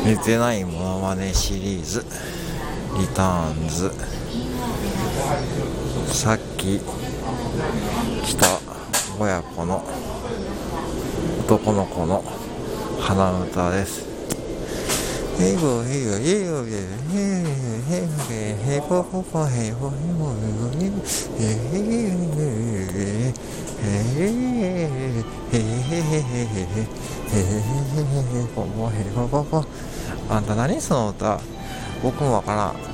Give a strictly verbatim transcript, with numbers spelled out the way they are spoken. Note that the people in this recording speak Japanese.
寝てないモノマネシリーズリターンズ。さっき来た親子の男の子の鼻歌です。ヘイボヘイボヘイボヘイボヘイボヘイボポポヘイボヘイボヘイボヘイボヘイボポポ。あんた何その歌？僕もわからん。